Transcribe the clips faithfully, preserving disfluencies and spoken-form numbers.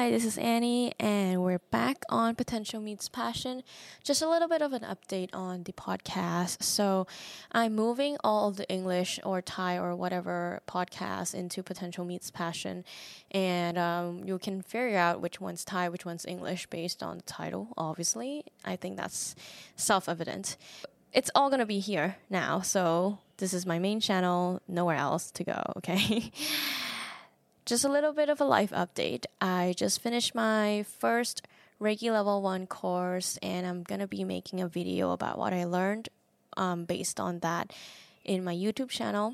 Hi, this is Annie, and we're back on Potential Meets Passion. Just a little bit of an update on the podcast. So, I'm moving all of the English or Thai or whatever podcasts into Potential Meets Passion, and um, you can figure out which one's Thai, which one's English based on the title, obviously. I think that's self evident. It's all gonna be here now, so this is my main channel, nowhere else to go, okay? Just a little bit of a life update. I just finished my first Reiki Level one course, and I'm going to be making a video about what I learned um, based on that in my YouTube channel.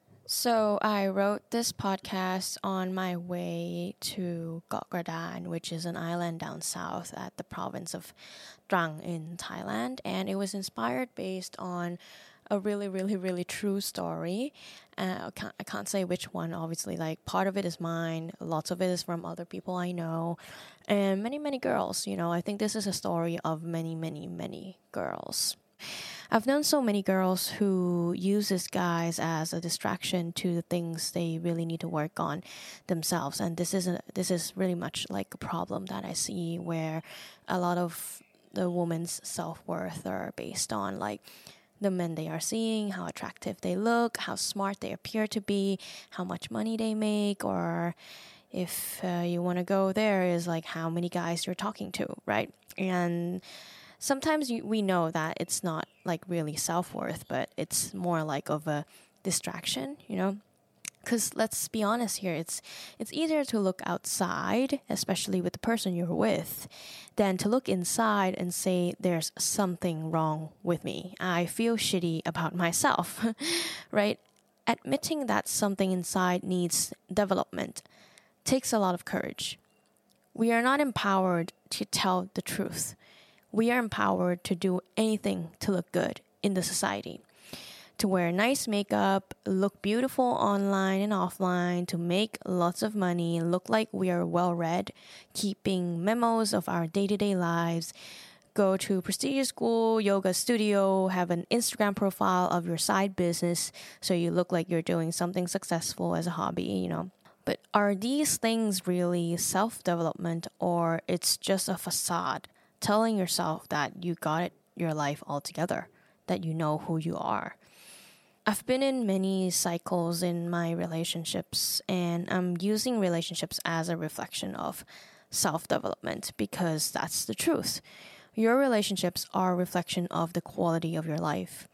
So I wrote this podcast on my way to Koh Gradan, which is an island down south at the province of Trang in Thailand, and it was inspired based on a really, really, really true story. Uh, I, can't, I can't say which one, obviously. Like, part of it is mine. Lots of it is from other people I know. And many, many girls, you know. I think this is a story of many, many, many girls. I've known so many girls who use this guys as a distraction to the things they really need to work on themselves. And this is, a, this is really much like a problem that I see where a lot of the women's self-worth are based on, like, the men they are seeing, how attractive they look, how smart they appear to be, how much money they make, or if uh, you want to go there is like how many guys you're talking to, right? And sometimes you, we know that it's not like really self-worth, but it's more like of a distraction, you know? Because let's be honest here, it's it's easier to look outside, especially with the person you're with, than to look inside and say there's something wrong with me. I feel shitty about myself, right? Admitting that something inside needs development takes a lot of courage. We are not empowered to tell the truth. We are empowered to do anything to look good in the society. To wear nice makeup, look beautiful online and offline, to make lots of money, look like we are well-read, keeping memos of our day-to-day lives, go to prestigious school, yoga studio, have an Instagram profile of your side business so you look like you're doing something successful as a hobby, you know. But are these things really self-development, or it's just a facade telling yourself that you got it, your life all together, that you know who you are? I've been in many cycles in my relationships, and I'm using relationships as a reflection of self-development because that's the truth. Your relationships are a reflection of the quality of your life.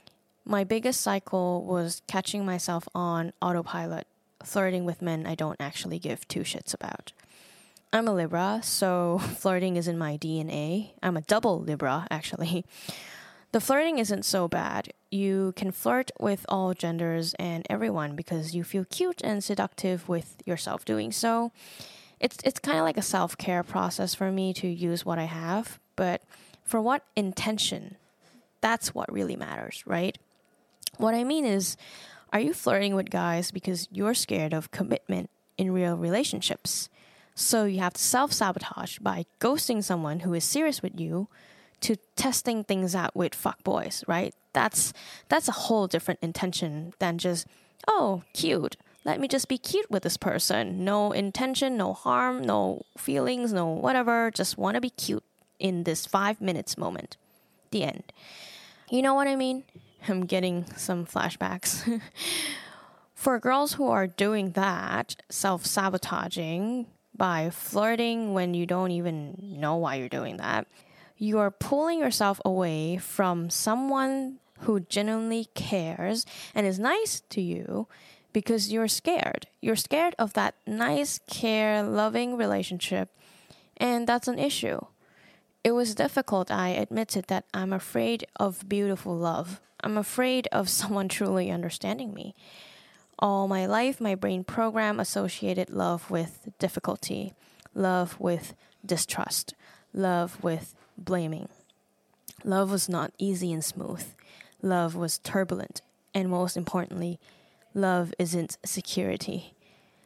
My biggest cycle was catching myself on autopilot, flirting with men I don't actually give two shits about. I'm a Libra, so flirting is in my D N A. I'm a double Libra, actually. The flirting isn't so bad. You can flirt with all genders and everyone because you feel cute and seductive with yourself doing so. It's it's kind of like a self-care process for me to use what I have, but for what intention? That's what really matters, right? What I mean is, are you flirting with guys because you're scared of commitment in real relationships? So you have to self-sabotage by ghosting someone who is serious with you, to testing things out with fuckboys, right? That's that's a whole different intention than just, oh, cute. Let me just be cute with this person. No intention, no harm, no feelings, no whatever. Just want to be cute in this five minutes moment. The end. You know what I mean? I'm getting some flashbacks. For girls who are doing that, self-sabotaging by flirting when you don't even know why you're doing that, you are pulling yourself away from someone who genuinely cares and is nice to you because you're scared. You're scared of that nice, care, loving relationship, and that's an issue. It was difficult, I admitted, that I'm afraid of beautiful love. I'm afraid of someone truly understanding me. All my life, my brain program associated love with difficulty, love with distrust, love with blaming. Love was not easy and smooth. Love was turbulent. And most importantly, love isn't security.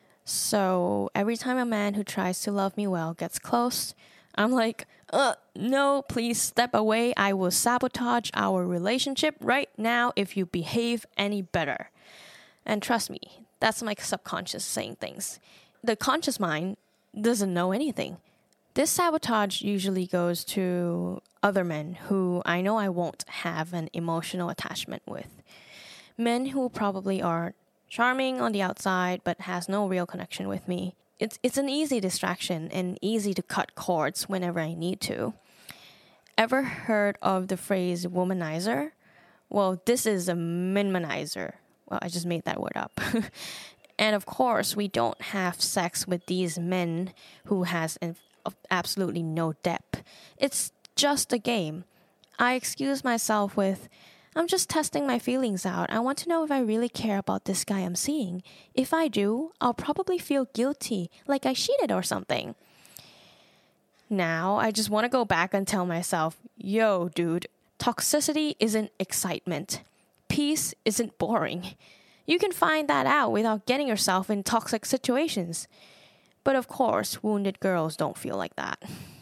So every time a man who tries to love me well gets close, I'm like, uh, no, please step away. I will sabotage our relationship right now if you behave any better. And trust me, that's my subconscious saying things. The conscious mind doesn't know anything. This sabotage usually goes to other men who I know I won't have an emotional attachment with. Men who probably are charming on the outside but has no real connection with me. It's it's an easy distraction and easy to cut cords whenever I need to. Ever heard of the phrase womanizer? Well, this is a minimanizer. Well, I just made that word up. And of course, we don't have sex with these men who has an, absolutely no depth. It's just a game. I excuse myself with, I'm just testing my feelings out. I want to know if I really care about this guy I'm seeing. If I do, I'll probably feel guilty, like I cheated or something. Now, I just want to go back and tell myself, yo, dude, toxicity isn't excitement. Peace isn't boring. You can find that out without getting yourself in toxic situations. But of course, wounded girls don't feel like that.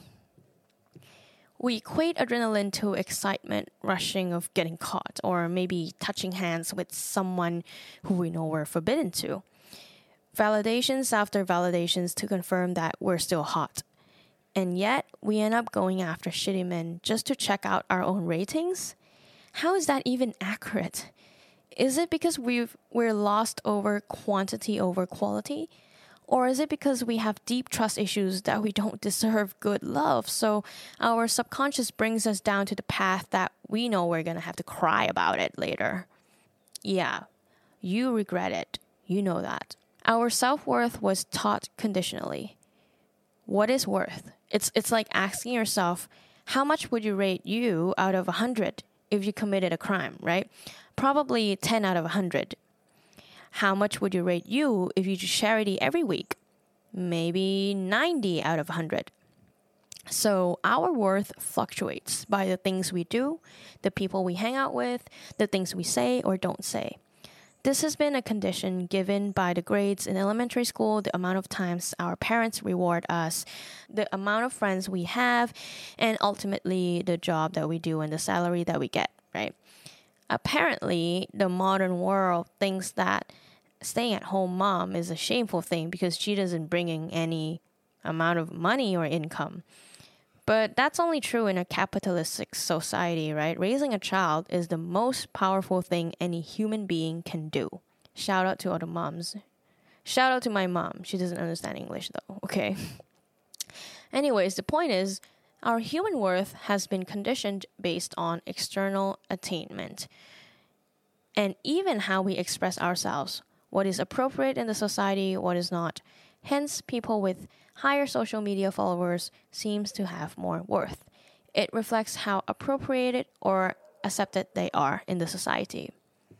We equate adrenaline to excitement, rushing of getting caught, or maybe touching hands with someone who we know we're forbidden to. Validations after validations to confirm that we're still hot. And yet, we end up going after shitty men just to check out our own ratings? How is that even accurate? Is it because we've, we're lost over quantity over quality? Or is it because we have deep trust issues that we don't deserve good love? So our subconscious brings us down to the path that we know we're going to have to cry about it later. Yeah, you regret it. You know that. Our self-worth was taught conditionally. What is worth? It's it's like asking yourself, how much would you rate you out of one hundred if you committed a crime, right? Probably ten out of one hundred. How much would you rate you if you do charity every week? Maybe ninety out of one hundred. So our worth fluctuates by the things we do, the people we hang out with, the things we say or don't say. This has been a condition given by the grades in elementary school, the amount of times our parents reward us, the amount of friends we have, and ultimately the job that we do and the salary that we get, right? Apparently, the modern world thinks that staying at home mom is a shameful thing because she doesn't bring in any amount of money or income. But that's only true in a capitalistic society, right? Raising a child is the most powerful thing any human being can do. Shout out to all the moms. Shout out to my mom. She doesn't understand English though, okay? Anyways, the point is, our human worth has been conditioned based on external attainment. And even how we express ourselves, what is appropriate in the society, what is not. Hence, people with higher social media followers seems to have more worth. It reflects how appropriated or accepted they are in the society.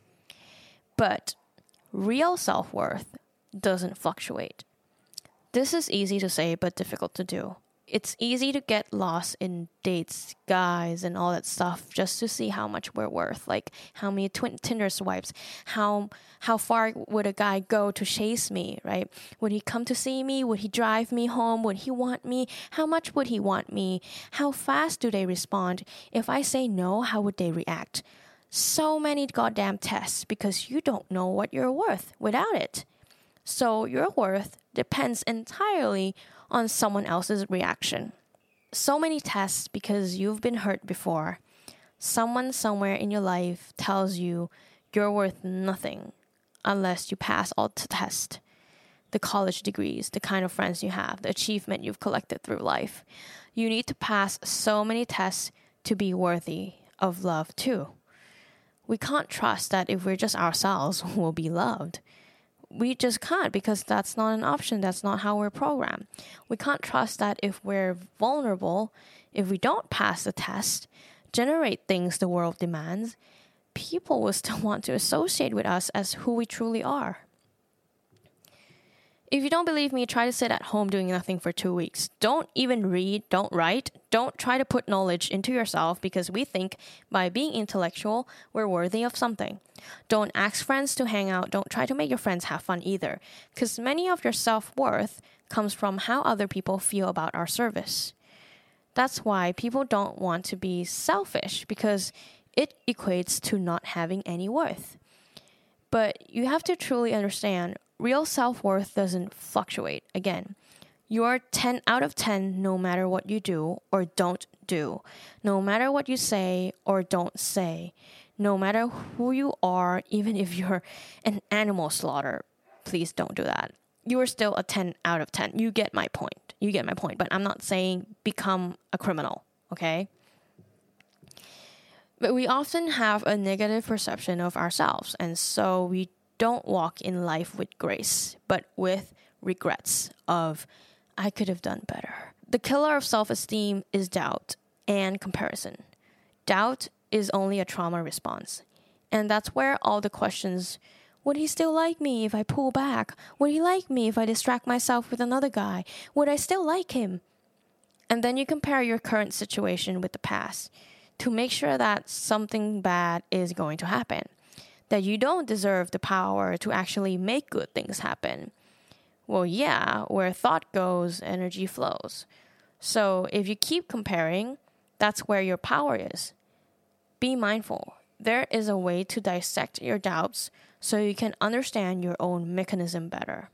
But real self-worth doesn't fluctuate. This is easy to say but difficult to do. It's easy to get lost in dates, guys, and all that stuff just to see how much we're worth. Like how many twin Tinder swipes, how how far would a guy go to chase me, right? Would he come to see me? Would he drive me home? Would he want me? How much would he want me? How fast do they respond? If I say no, how would they react? So many goddamn tests because you don't know what you're worth without it. So your worth depends entirely on someone else's reaction. So many tests because you've been hurt before. Someone somewhere in your life tells you you're worth nothing unless you pass all the tests. The college degrees, the kind of friends you have, the achievement you've collected through life. You need to pass so many tests to be worthy of love too. We can't trust that if we're just ourselves, we'll be loved. We just can't because that's not an option. That's not how we're programmed. We can't trust that if we're vulnerable, if we don't pass the test, generate things the world demands, people will still want to associate with us as who we truly are. If you don't believe me, try to sit at home doing nothing for two weeks. Don't even read, don't write, don't try to put knowledge into yourself because we think by being intellectual, we're worthy of something. Don't ask friends to hang out, don't try to make your friends have fun either, because many of your self-worth comes from how other people feel about our service. That's why people don't want to be selfish because it equates to not having any worth. But you have to truly understand real self-worth doesn't fluctuate. Again, You're ten out of ten no matter what you do or don't do, no matter what you say or don't say, no matter who you are, even if you're an animal slaughter. Please don't do that. You are still a ten out of ten. You get my point. You get my point. But I'm not saying become a criminal, okay? But we often have a negative perception of ourselves, and so we don't walk in life with grace, but with regrets of, I could have done better. The killer of self-esteem is doubt and comparison. Doubt is only a trauma response. And that's where all the questions, would he still like me if I pull back? Would he like me if I distract myself with another guy? Would I still like him? And then you compare your current situation with the past to make sure that something bad is going to happen, that you don't deserve the power to actually make good things happen. Well, yeah, where thought goes, energy flows. So if you keep comparing, that's where your power is. Be mindful. There is a way to dissect your doubts so you can understand your own mechanism better.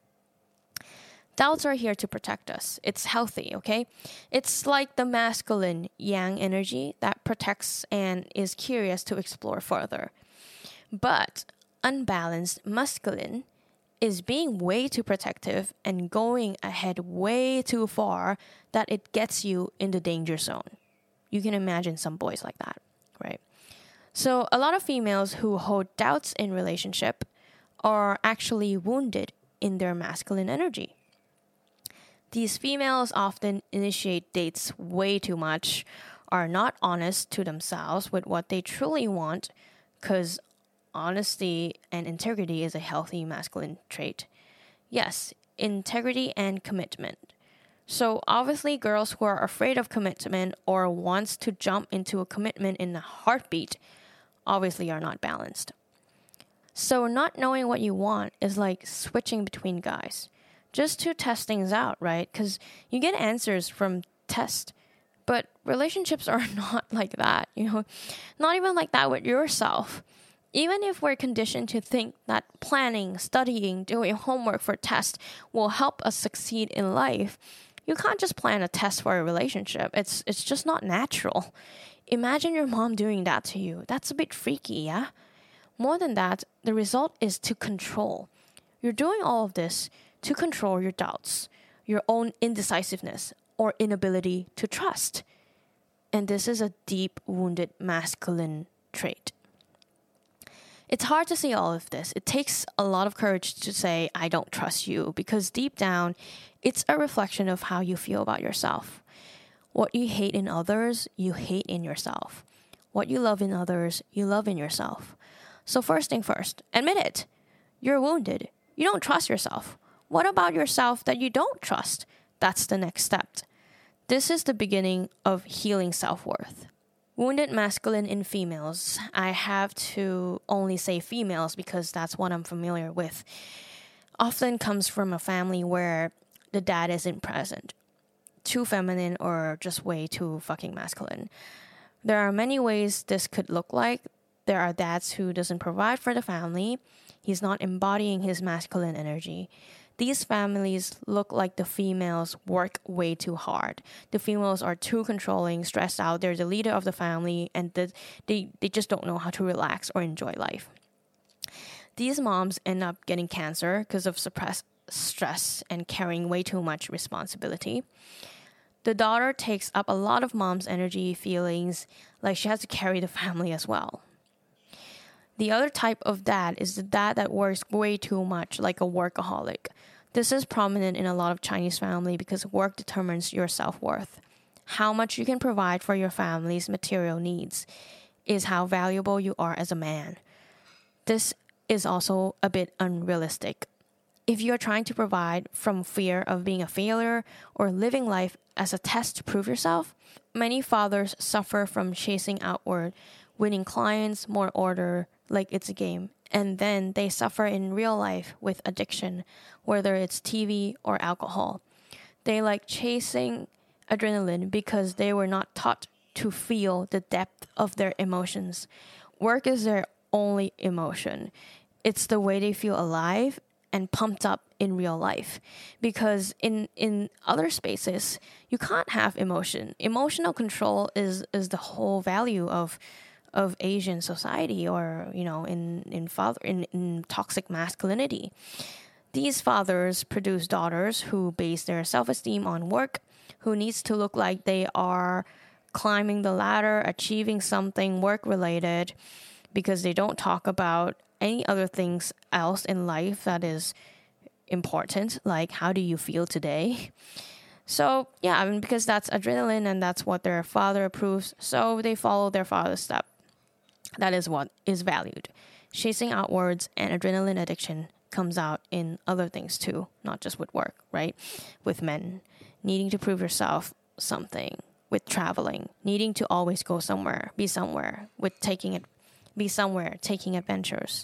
Doubts are here to protect us. It's healthy, okay? It's like the masculine yang energy that protects and is curious to explore further. But unbalanced masculine is being way too protective and going ahead way too far that it gets you in the danger zone. You can imagine some boys like that, right? So a lot of females who hold doubts in relationship are actually wounded in their masculine energy. These females often initiate dates way too much, are not honest to themselves with what they truly want, because honesty and integrity is a healthy masculine trait. Yes, integrity and commitment. So obviously girls who are afraid of commitment or wants to jump into a commitment in a heartbeat obviously are not balanced. So not knowing what you want is like switching between guys, just to test things out, right? Because you get answers from tests, but relationships are not like that, you know, not even like that with yourself. Even if we're conditioned to think that planning, studying, doing homework for tests will help us succeed in life, you can't just plan a test for a relationship. It's it's just not natural. Imagine your mom doing that to you. That's a bit freaky, yeah? More than that, the result is to control. You're doing all of this to control your doubts, your own indecisiveness, or inability to trust. And this is a deep wounded masculine trait. It's hard to say all of this. It takes a lot of courage to say, I don't trust you, because deep down, it's a reflection of how you feel about yourself. What you hate in others, you hate in yourself. What you love in others, you love in yourself. So first thing first, admit it. You're wounded. You don't trust yourself. What about yourself that you don't trust? That's the next step. This is the beginning of healing self-worth. Wounded masculine in females. I have to only say females because that's what I'm familiar with. Often comes from a family where the dad isn't present. Too feminine or just way too fucking masculine. There are many ways this could look like. There are dads who doesn't provide for the family. He's not embodying his masculine energy. These families look like the females work way too hard. The females are too controlling, stressed out. They're the leader of the family, and the, they, they just don't know how to relax or enjoy life. These moms end up getting cancer because of suppressed stress and carrying way too much responsibility. The daughter takes up a lot of mom's energy, feelings, like she has to carry the family as well. The other type of dad is the dad that works way too much, like a workaholic. This is prominent in a lot of Chinese family because work determines your self-worth. How much you can provide for your family's material needs is how valuable you are as a man. This is also a bit unrealistic. If you are trying to provide from fear of being a failure or living life as a test to prove yourself, many fathers suffer from chasing outward, winning clients, more order, like it's a game. And then they suffer in real life with addiction, whether it's T V or alcohol. They like chasing adrenaline because they were not taught to feel the depth of their emotions. Work is their only emotion. It's the way they feel alive, and pumped up in real life, because in in other spaces you can't have emotion. Emotional control is is the whole value of of Asian society, or you know in in father in, in toxic masculinity. These fathers produce daughters who base their self-esteem on work, who needs to look like they are climbing the ladder, achieving something work related, because they don't talk about any other things else in life that is important, like how do you feel today. So yeah, I mean, because that's adrenaline and that's what their father approves, so they follow their father's step. That is what is valued. Chasing outwards and adrenaline addiction comes out in other things too, not just with work, right? With men needing to prove yourself something, with traveling, needing to always go somewhere, be somewhere, with taking it, be somewhere, taking adventures.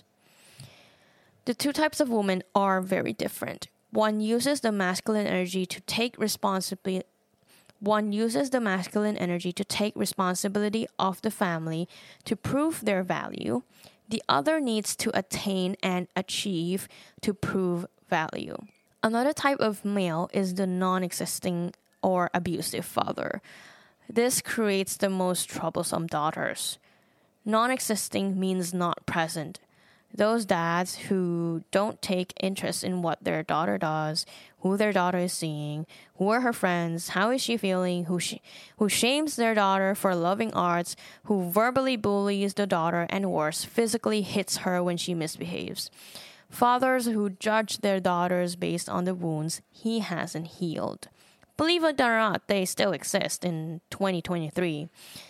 The two types of women are very different. One uses the masculine energy to take responsibility. One uses the masculine energy to take responsibility of the family to prove their value. The other needs to attain and achieve to prove value. Another type of male is the non-existing or abusive father. This creates the most troublesome daughters. Non-existing means not present. Those dads who don't take interest in what their daughter does, who their daughter is seeing, who are her friends, how is she feeling, who sh- who shames their daughter for loving arts, who verbally bullies the daughter, and worse, physically hits her when she misbehaves. Fathers who judge their daughters based on the wounds he hasn't healed. Believe it or not, they still exist in twenty twenty-three.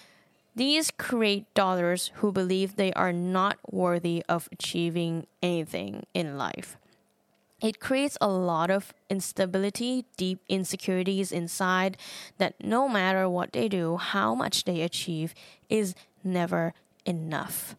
These create daughters who believe they are not worthy of achieving anything in life. It creates a lot of instability, deep insecurities inside that no matter what they do, how much they achieve is never enough.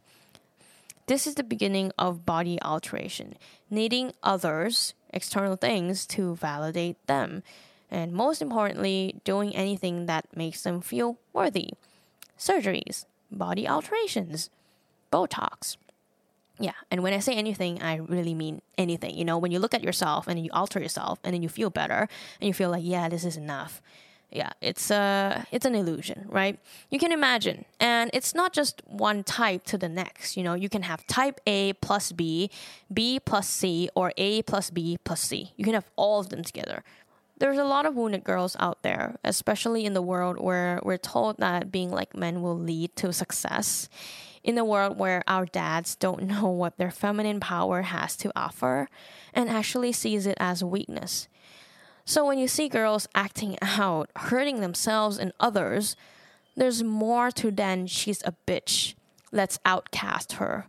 This is the beginning of body alteration, needing others, external things, to validate them. And most importantly, doing anything that makes them feel worthy. Surgeries, body alterations, Botox. Yeah, and when I say anything, I really mean anything. You know, when you look at yourself and you alter yourself and then you feel better and you feel like, yeah, this is enough. Yeah, it's uh, it's an illusion, right? You can imagine. And it's not just one type to the next. You know, you can have type A plus B, B plus C, or A plus B plus C. You can have all of them together. There's a lot of wounded girls out there, especially in the world where we're told that being like men will lead to success. In the world where our dads don't know what their feminine power has to offer and actually sees it as weakness. So when you see girls acting out, hurting themselves and others, there's more to than she's a bitch. Let's outcast her.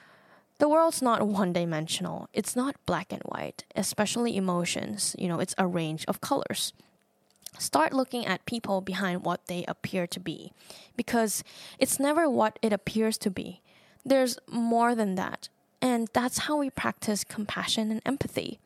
The world's not one-dimensional. It's not black and white, especially emotions. You know, it's a range of colors. Start looking at people behind what they appear to be, because it's never what it appears to be. There's more than that, and that's how we practice compassion and empathy.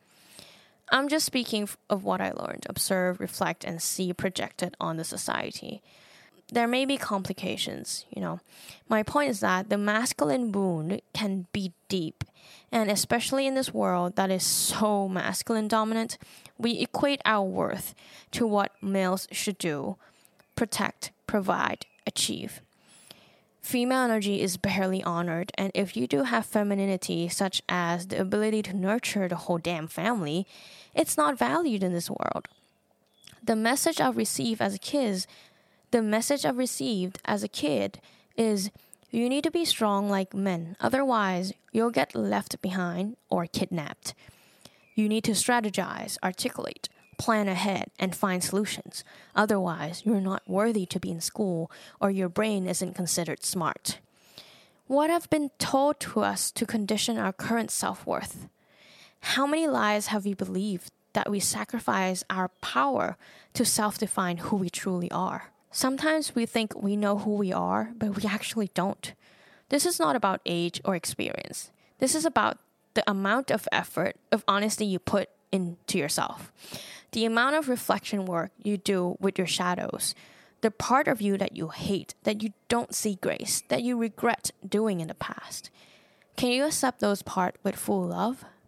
I'm just speaking of what I learned, observe, reflect, and see projected on the society. There may be complications, you know. My point is that the masculine wound can be deep, and especially in this world that is so masculine dominant, we equate our worth to what males should do, protect, provide, achieve. Female energy is barely honored, and if you do have femininity, such as the ability to nurture the whole damn family, it's not valued in this world. The message I received as a kid The message I've received as a kid is you need to be strong like men. Otherwise, you'll get left behind or kidnapped. You need to strategize, articulate, plan ahead, and find solutions. Otherwise, you're not worthy to be in school or your brain isn't considered smart. What have been told to us to condition our current self-worth? How many lies have we believed that we sacrifice our power to self-define who we truly are? Sometimes we think we know who we are, but we actually don't. This is not about age or experience. This is about the amount of effort, of honesty you put into yourself. The amount of reflection work you do with your shadows. The part of you that you hate, that you don't see grace, that you regret doing in the past. Can you accept those parts with full love?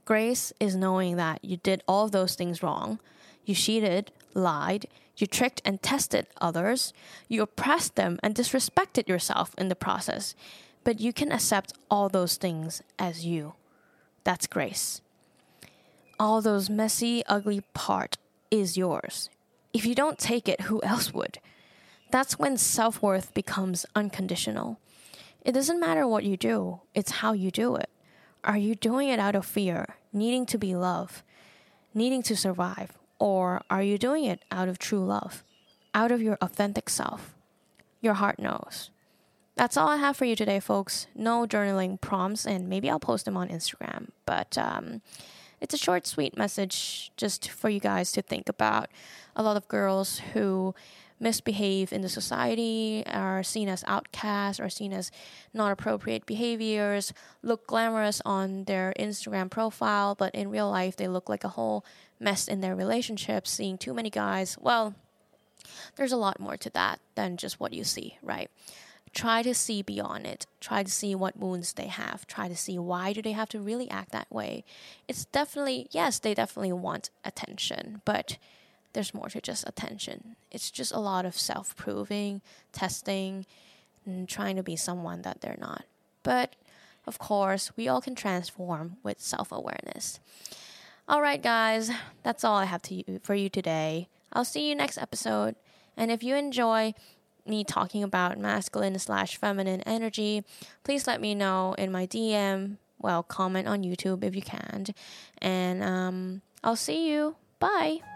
Grace is knowing that you did all of those things wrong. You cheated, lied, you tricked and tested others, you oppressed them and disrespected yourself in the process. But you can accept all those things as you. That's grace. All those messy, ugly part is yours. If you don't take it, who else would? That's when self-worth becomes unconditional. It doesn't matter what you do, it's how you do it. Are you doing it out of fear, needing to be loved, needing to survive? Or are you doing it out of true love, out of your authentic self? Your heart knows. That's all I have for you today, folks. No journaling prompts, and maybe I'll post them on Instagram. But um, it's a short, sweet message just for you guys to think about. A lot of girls who misbehave in the society, are seen as outcasts, or seen as not appropriate behaviors, look glamorous on their Instagram profile, but in real life they look like a whole mess in their relationships, seeing too many guys. Well, there's a lot more to that than just what you see, right? Try to see beyond it. Try to see what wounds they have. Try to see why do they have to really act that way. It's definitely, yes, they definitely want attention, but there's more to just attention. It's just a lot of self-proving, testing, and trying to be someone that they're not. But, of course, we all can transform with self-awareness. All right, guys, that's all I have to you, for you today. I'll see you next episode. And if you enjoy me talking about masculine slash feminine energy, please let me know in my D M. Well, comment on YouTube if you can. And um, I'll see you. Bye.